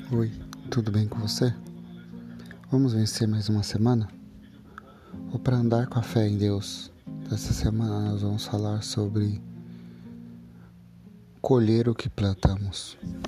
Oi, tudo bem com você? Vamos vencer mais uma semana? Ou para andar com a fé em Deus? Dessa semana nós vamos falar sobre colher o que plantamos.